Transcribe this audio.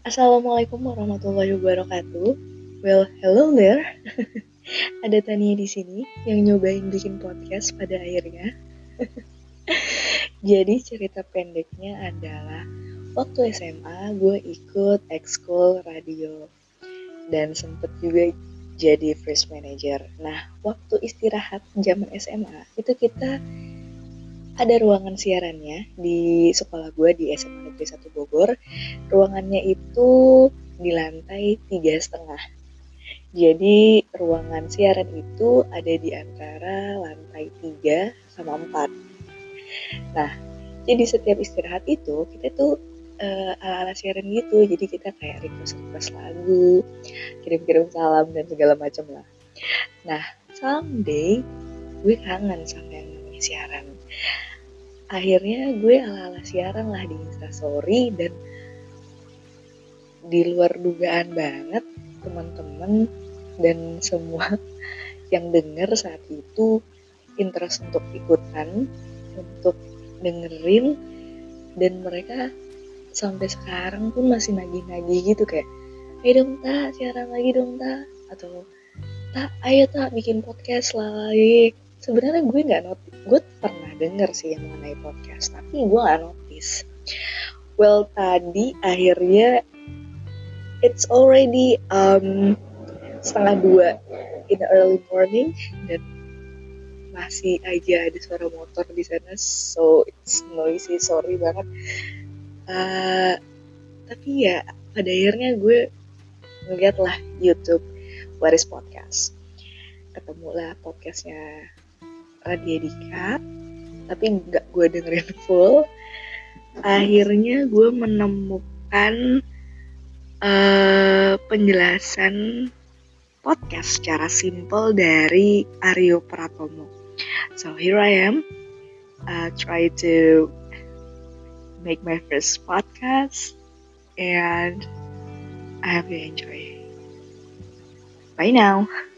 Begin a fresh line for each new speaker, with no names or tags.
Assalamualaikum warahmatullahi wabarakatuh. Well, hello there. Ada Tania di sini yang nyobain bikin podcast pada akhirnya. Jadi cerita pendeknya adalah waktu SMA gue ikut ekskul radio dan sempet juga jadi first manager. Nah, waktu istirahat zaman SMA itu kita ada ruangan siarannya di sekolah gue di SMA Negeri 1 Bogor. Ruangannya itu di lantai 3,5. Jadi ruangan siaran itu ada di antara lantai 3 sama 4. Nah, jadi setiap istirahat itu kita tuh ala-ala siaran gitu. Jadi kita kayak request lagu, kirim-kirim salam dan segala macam lah. Nah, someday gue kangen sama yang namanya siaran. Akhirnya gue ala-ala siaran lah di Instastory dan di luar dugaan banget teman-teman dan semua yang denger saat itu interest untuk ikutan, untuk dengerin, dan mereka sampai sekarang pun masih nagih-nagih gitu kayak, ayo dong tak, siaran lagi dong tak, atau tak, ayo tak bikin podcast lagi. Sebenarnya gue nggak notice, gue pernah denger sih yang mengenai podcast, tapi gue nggak notice. Well, tadi akhirnya it's already 1:30 in the early morning dan masih aja ada suara motor di sana, so it's noisy, sorry banget. Tapi ya pada akhirnya gue ngeliat lah YouTube What is Podcast, ketemulah podcastnya Radya Dika, tapi nggak gue dengerin full. Akhirnya gue menemukan penjelasan podcast secara simple dari Aryo Pratomo. So here I am, try to make my first podcast, and I hope you enjoy. Bye now.